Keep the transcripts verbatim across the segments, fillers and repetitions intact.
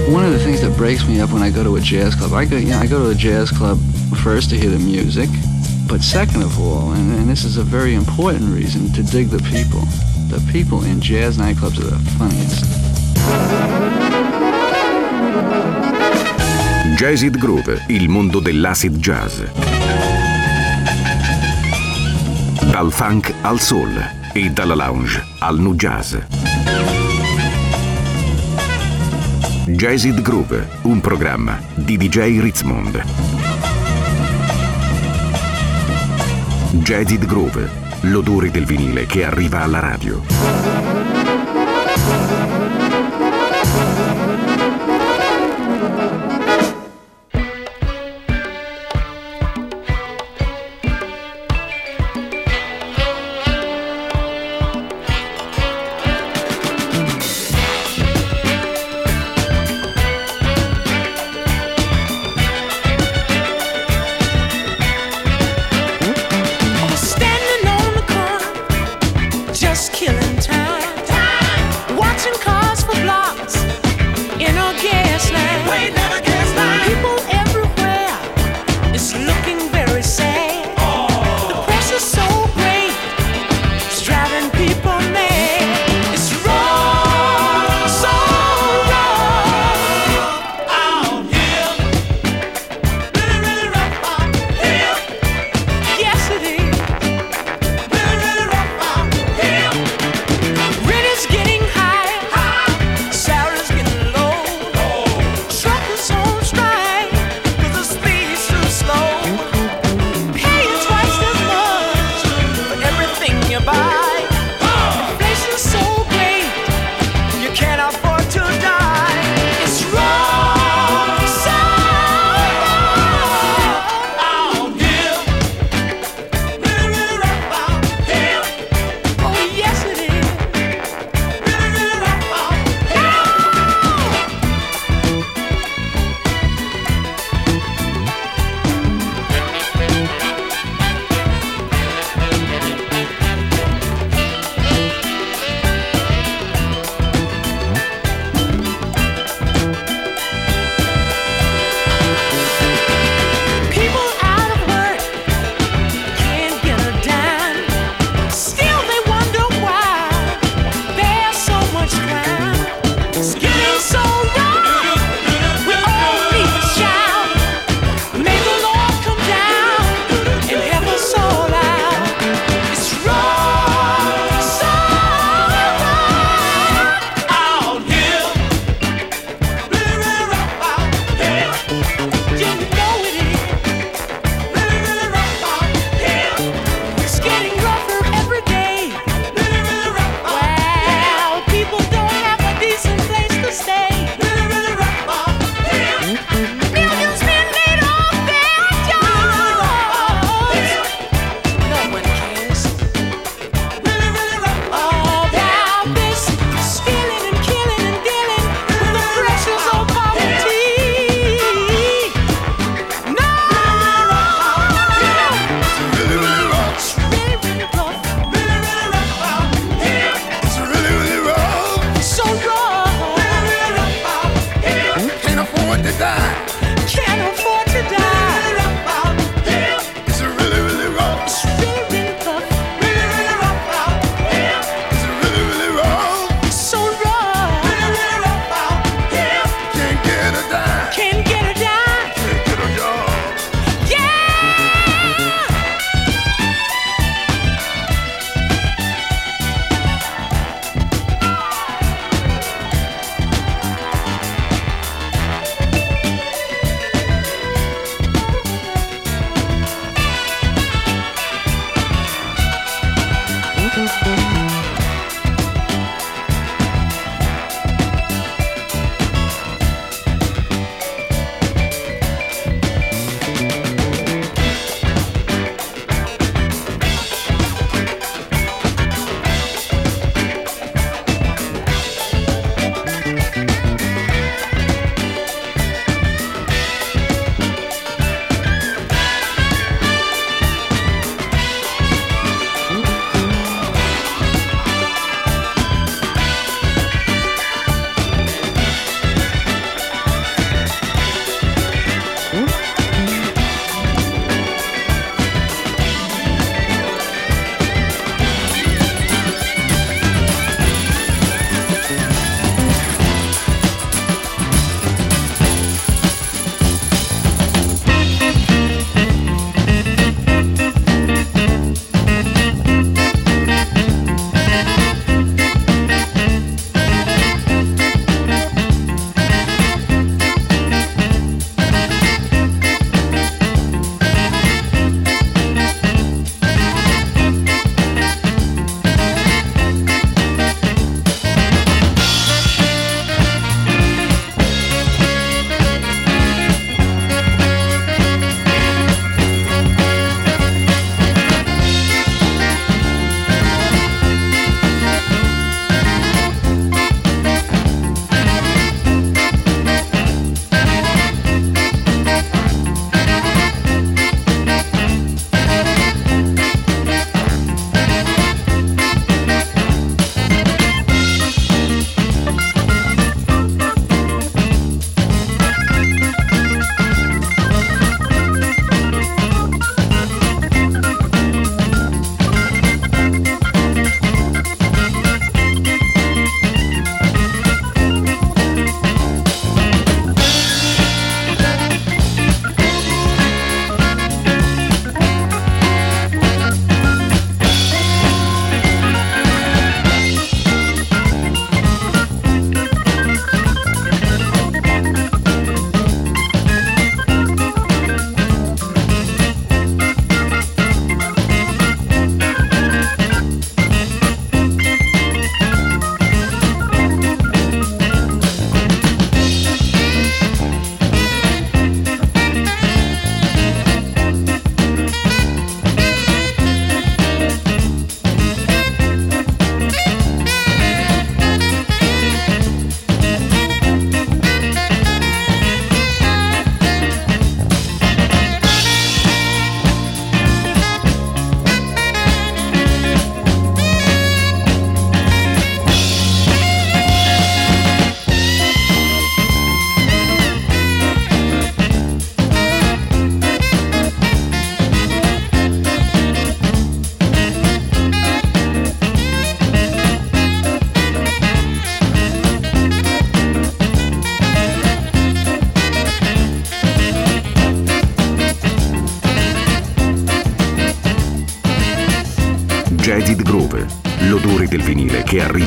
One of the things that breaks me up when I go to a jazz club, I go, you know, I go to a jazz club first to hear the music, but second of all, and, and this is a very important reason, to dig the people. The people in jazz nightclubs are the funniest. Jazzid Groove, il mondo dell'acid jazz. Dal funk al soul e dalla lounge al nu jazz. Jazzid Groove, un programma di D J Ritzmond. Jazzid Groove, l'odore del vinile che arriva alla radio.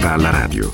arriva alla radio.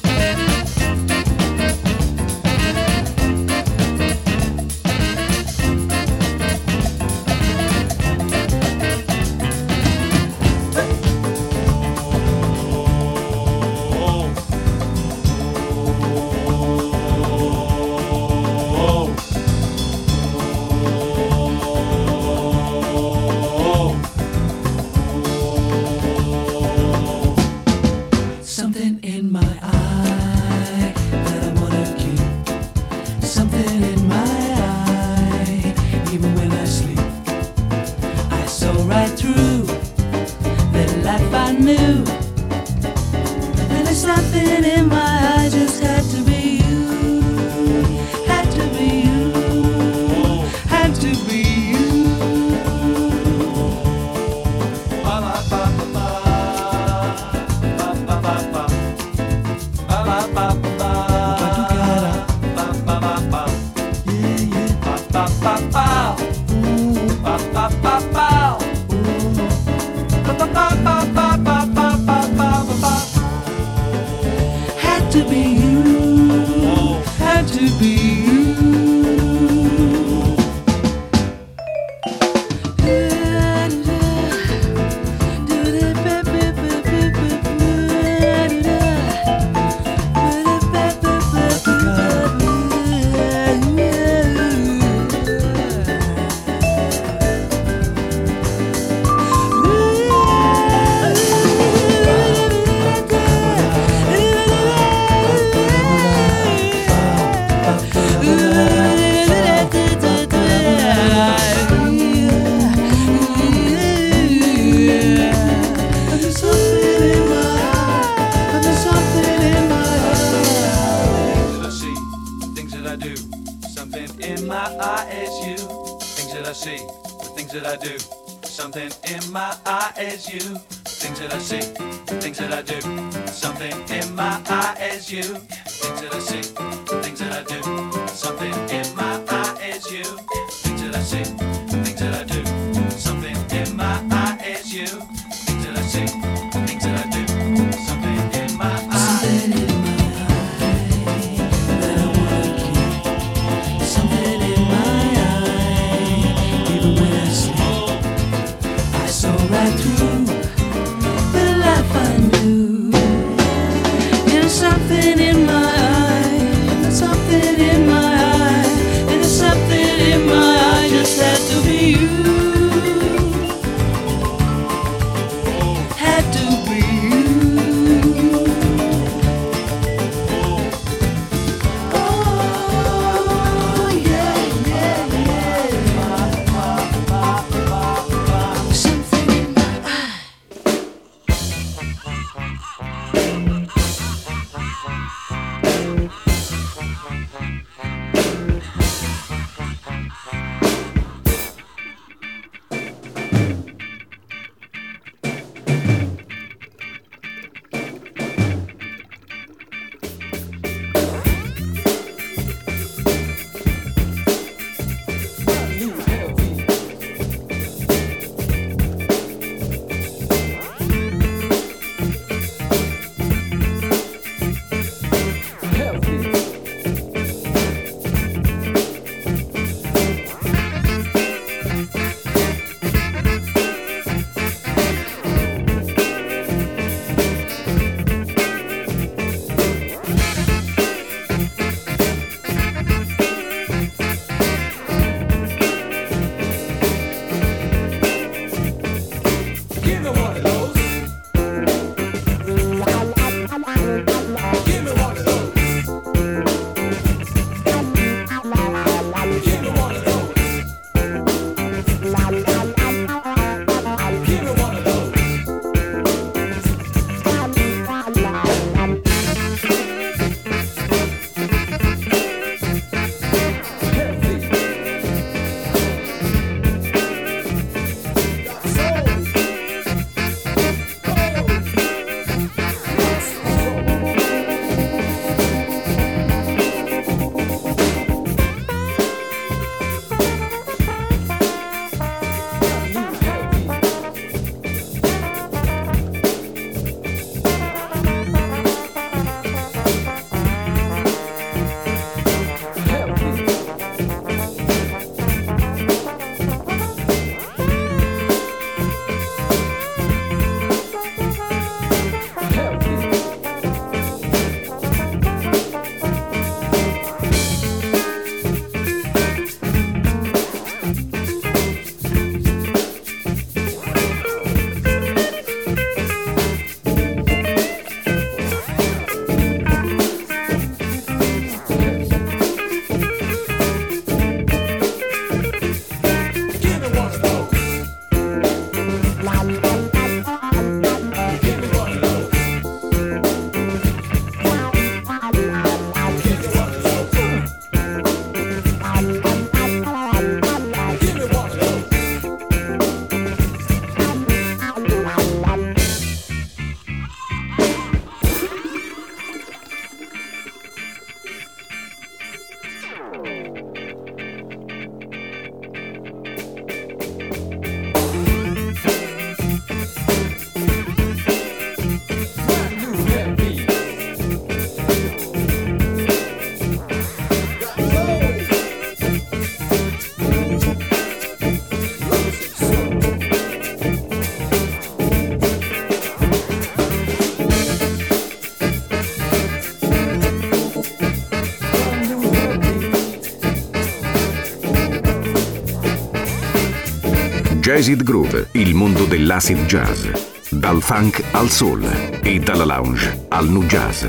Jazzid Groove, il mondo dell'acid jazz. Dal funk al soul e dalla lounge al nu jazz.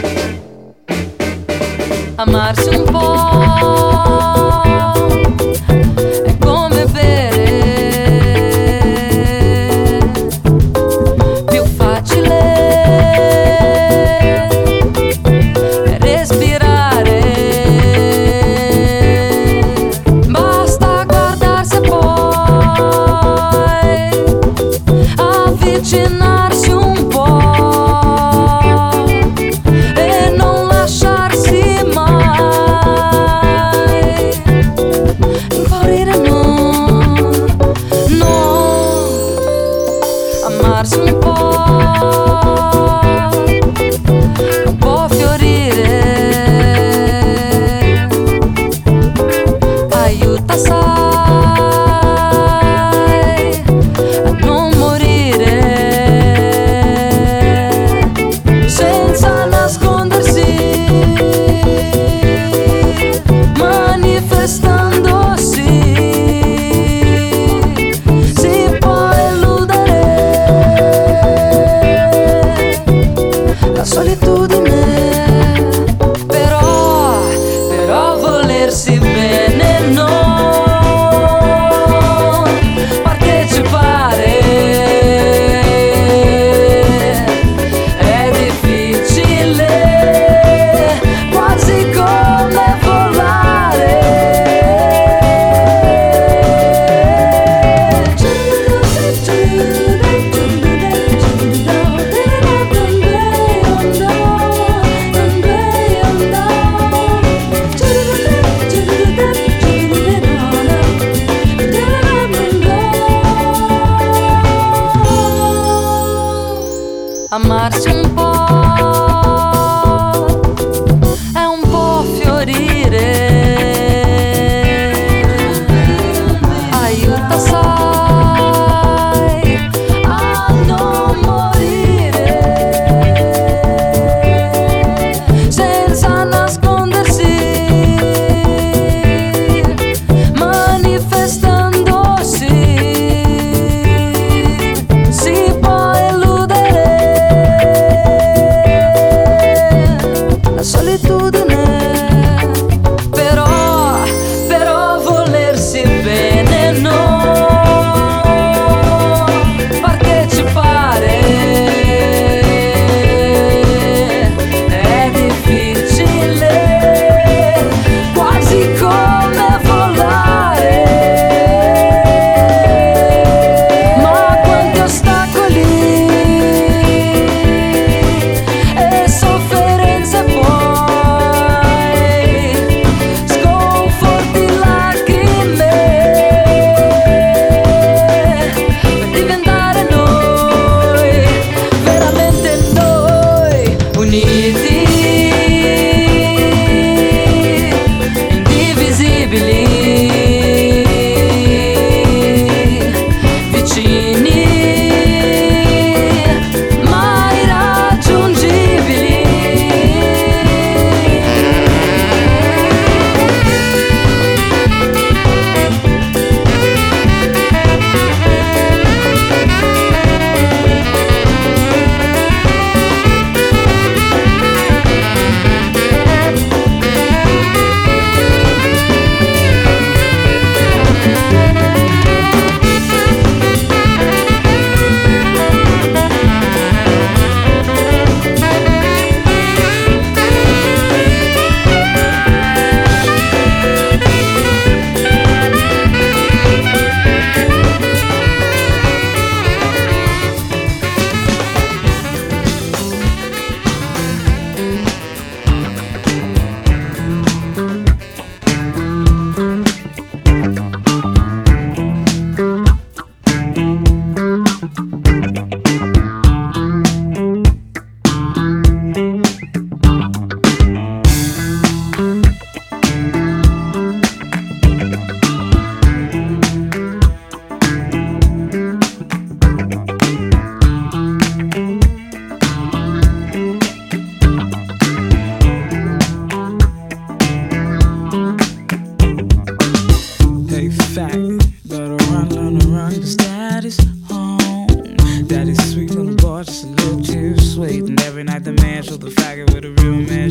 Amarsi un po' è come bere, più facile è respirare, basta guardarsi poi, avvicinarsi un po' e non lasciarsi mai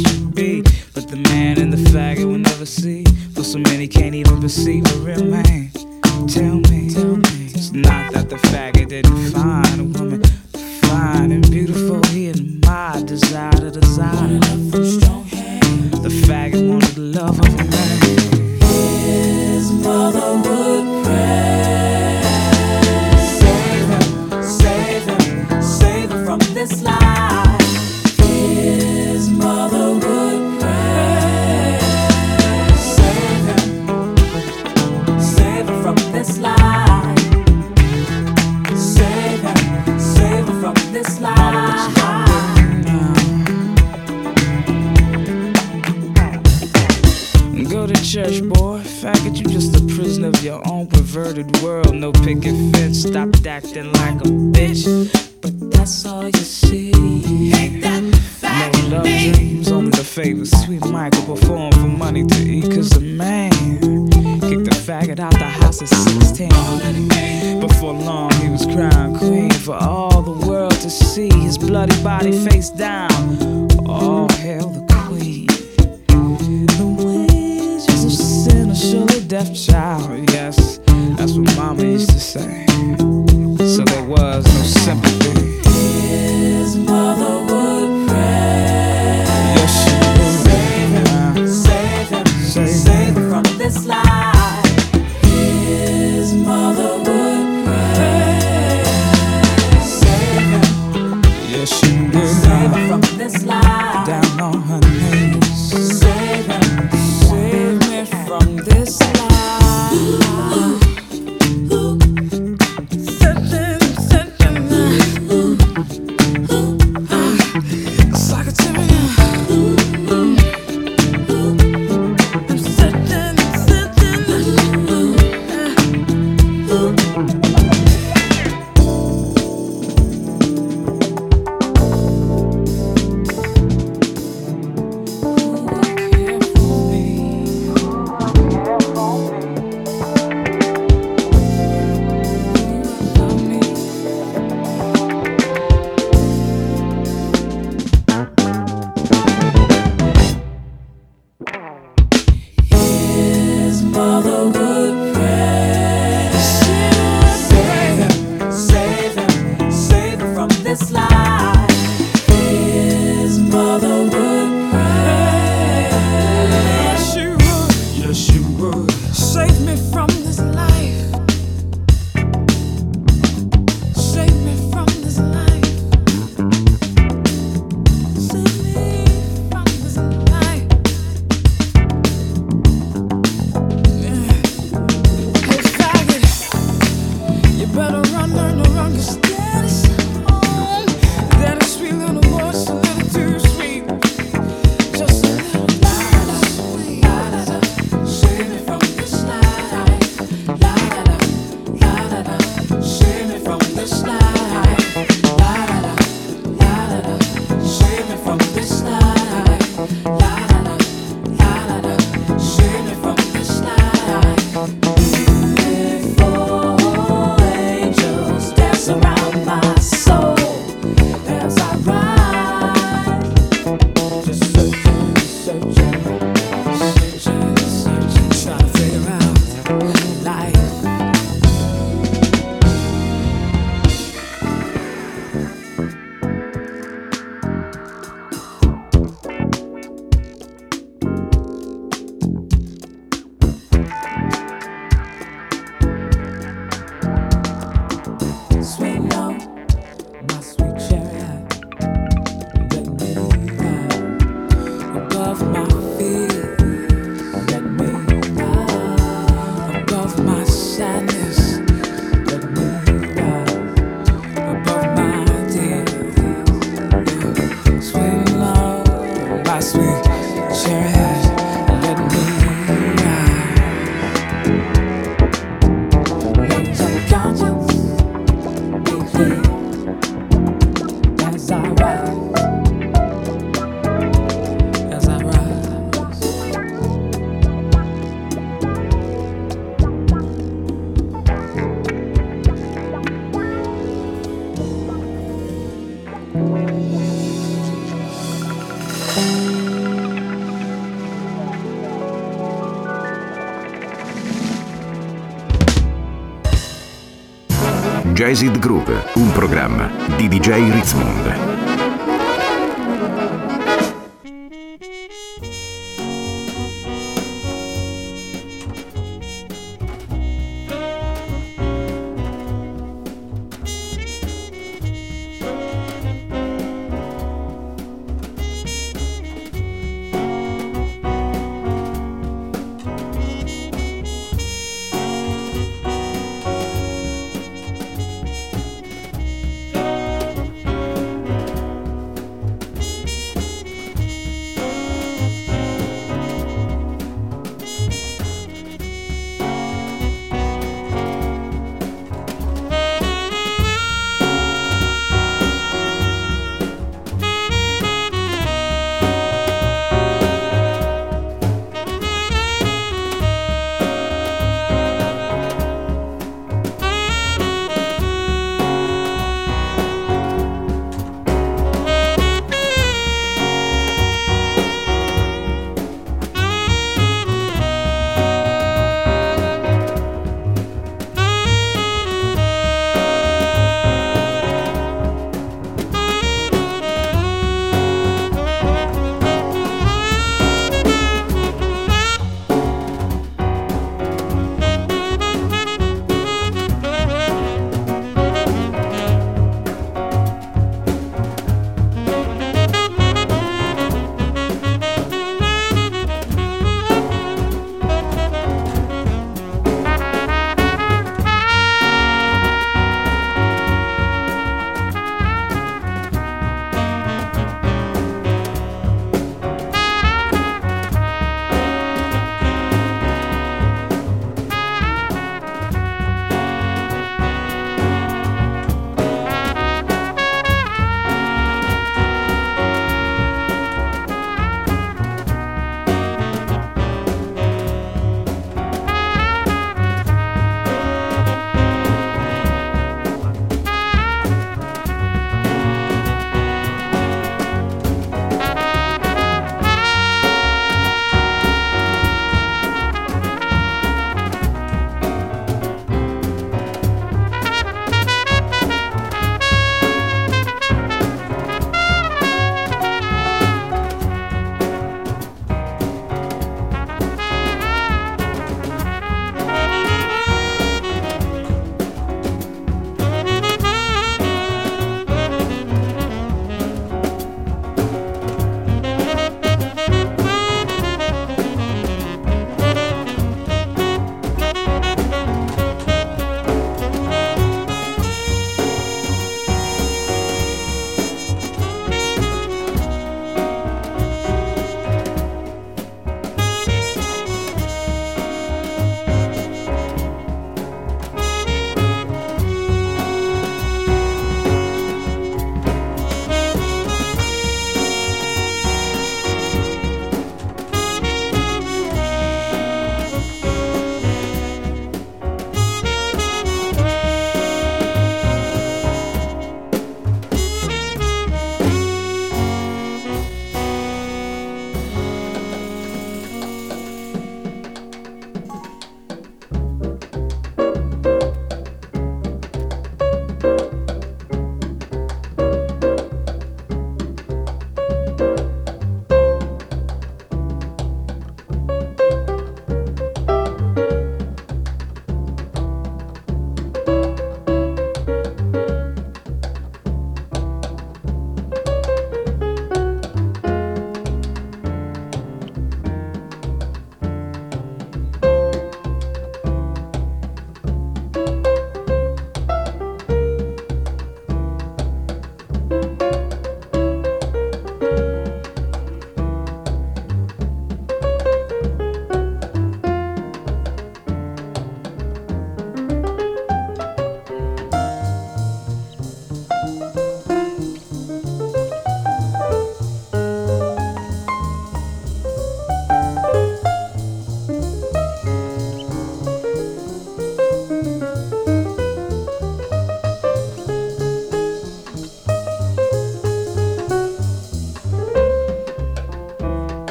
should be. But the man and the faggot will never see. For so many can't even perceive a real man. Tell me, tell me, it's not that the faggot didn't find a woman fine and beautiful. He admired, desire to desire love from strong hands. The faggot wanted the love of a man. His mother would pray, save him, save him, save him from this life. His mother would pray, save him, save him from this life. Save him, save him from this life. Go to church, boy. Faggot, you just a prisoner of your own perverted world. No picket fence, stop acting like a bitch. But that's all you see. Ain't that faggot? No love dreams, only the favor. Sweet Michael perform for money to eat. Cause the man kicked the faggot out the house at sixteen. Before long he was crowned queen for all the world to see. His bloody body face down. All hail the queen. The wages of sin are surely death, child. Yes, that's what mama used to say. So there was no sympathy. His mother would pray. Yes, she would. Save him, save him, save, save him from this life. His mother would pray. Save him. Yes, she would. Save him from this life. Down on her knees. Save him. Save me from this life. Jazzed Groove, un programma di D J Ritzmond.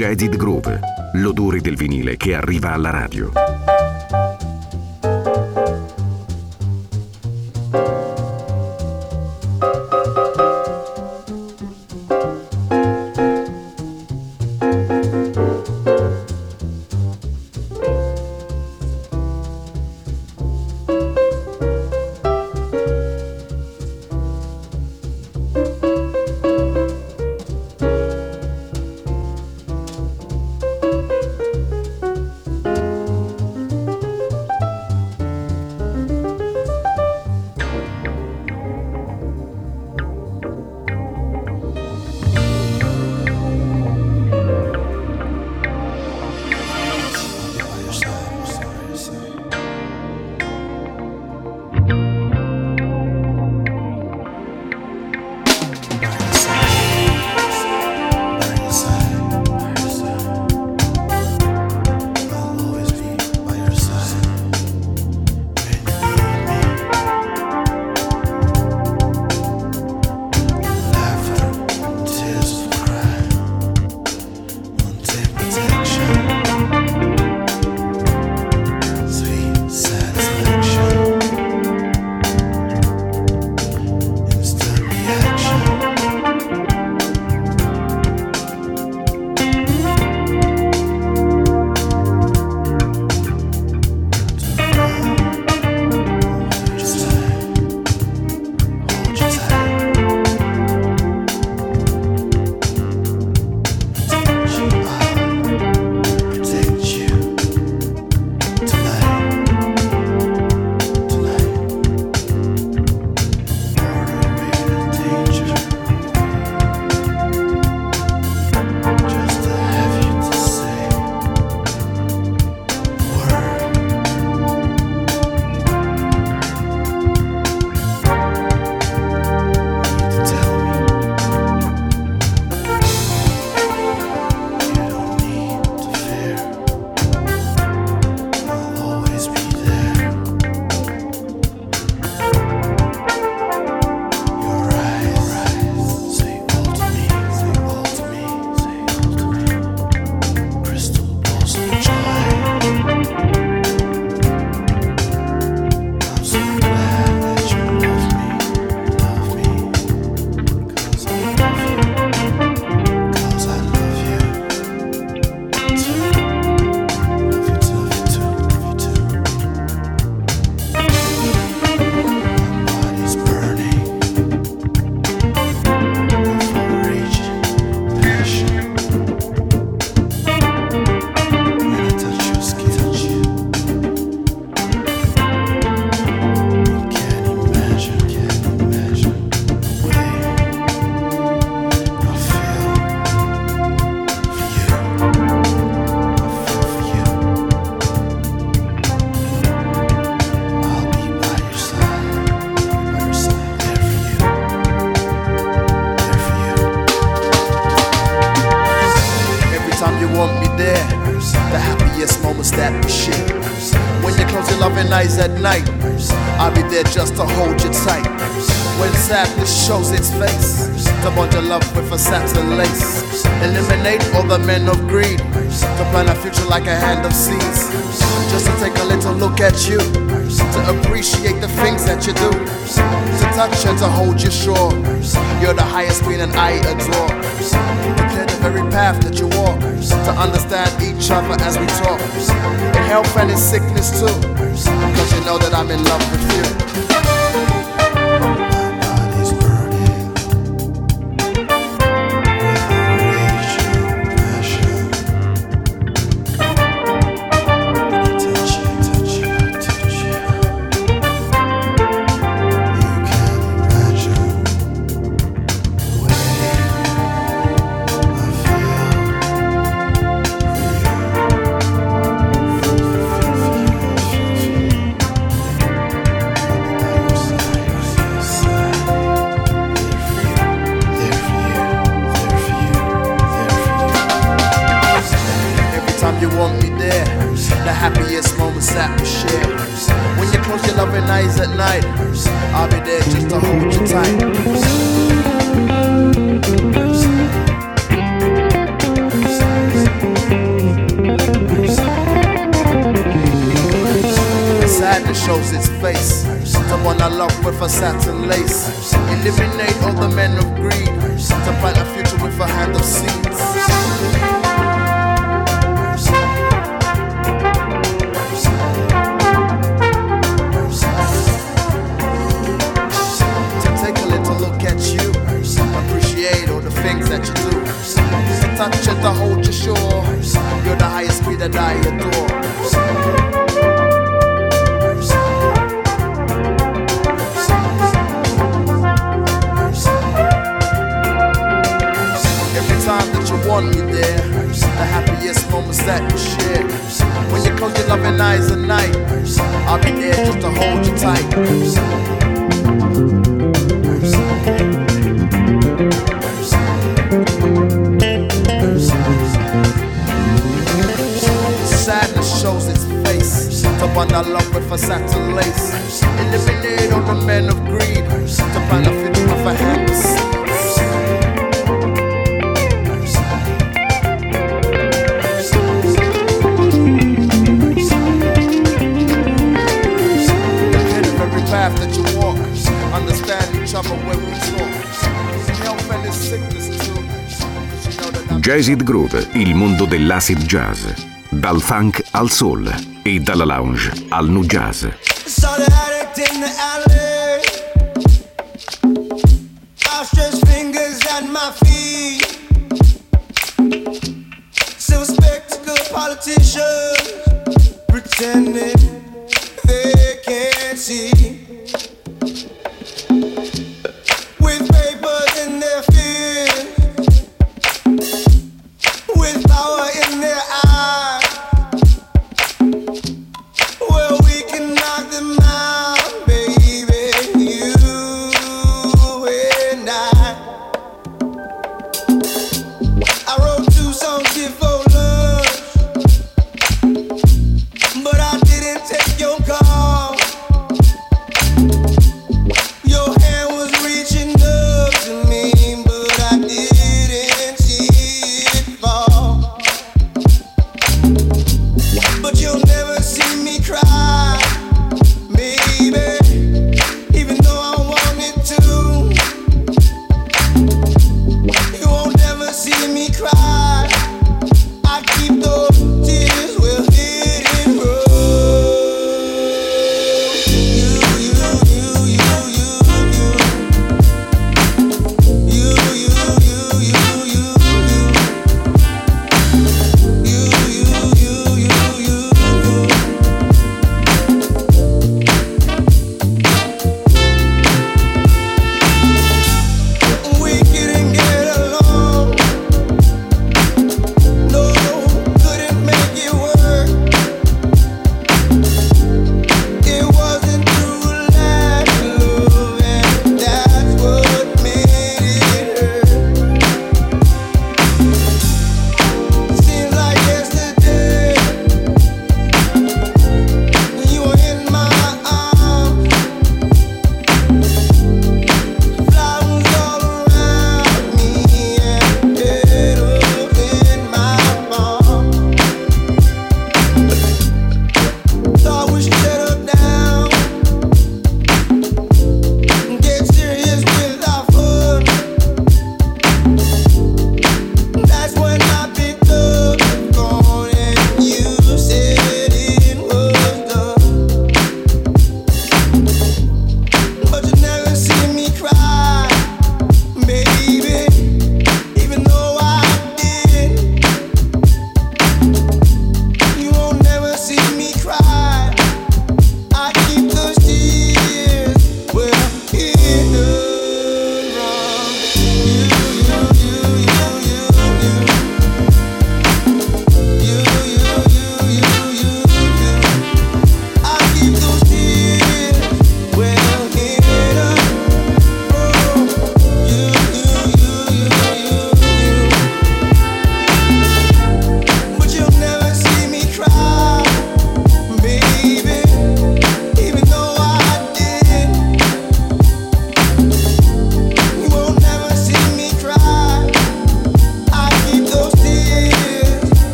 Jazzy Groove, l'odore del vinile che arriva alla radio. Eyes at night, I'll be there just to hold you tight. When sadness shows its face, to bond your love with a satin lace. Eliminate all the men of greed, to plan a future like a hand of seeds. Just to take a little look at you, to appreciate the things that you do, to touch and to hold you sure. You're the highest queen and I adore. To clear the very path that you walk, to understand each other as we talk, in health and in sickness too, cause you know that I'm in love with you. You want me there, the happiest moments that we share. When you close your loving eyes at night, I'll be there just to hold you tight. Mercy. Mercy. Mercy. sadness shows its face. The one I love with a satin lace. Eliminate all the men of greed. To plant a future with a hand of seeds. Things that you do, to touch it, to hold you sure. You're the highest speed that I adore. Every time that you want me there, the happiest moments that we share. When you close your loving eyes at night, I'll be there just to hold you tight. Sadness shows its face. To bond our love with a satin lace. Eliminate all the men of greed. To find a future with a hand of seeds. Ahead of every path that you walk. Understand each other when we talk. Health and its sickness too. Jazzed Groove, il mondo dell'acid jazz. Dal funk al soul e dalla lounge al nu jazz. But I didn't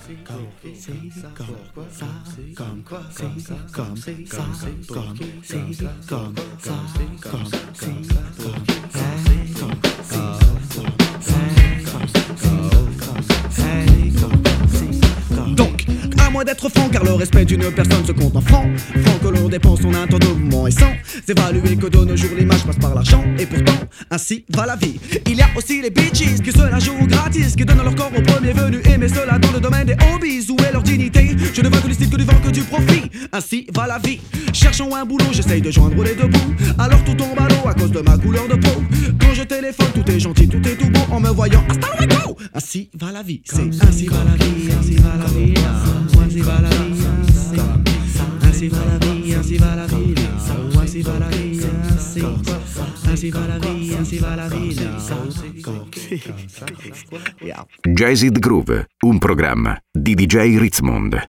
Donc, à moins d'être franc, car le respect d'une personne se compte en francs. Franc que l'on dépense son un temps de mouvement et sans évaluer que de nos jours l'image passe par l'argent. Et pourtant, ainsi va la vie. Il y a aussi les bitches qui se la jouent gratis, qui donnent leur corps au premier venu, et mais cela dans le domaine des hobbies. Où est leur dignité? Je ne vois que du style, que du vent, que du profit. Ainsi va la vie. Cherchant un boulot, j'essaye de joindre les deux bouts. Alors tout tombe à l'eau à cause de ma couleur de peau. Quand je téléphone, tout est gentil, tout est tout beau. En me voyant, hasta luego. Ainsi va la vie. C'est ainsi va la vie, ainsi va la vie, ainsi va la vie, ainsi va la vie, ainsi va la vie, ainsi va la vie, ainsi va la vie, ainsi va la vie. Jazzed Groove, un programma di D J Ritzmond.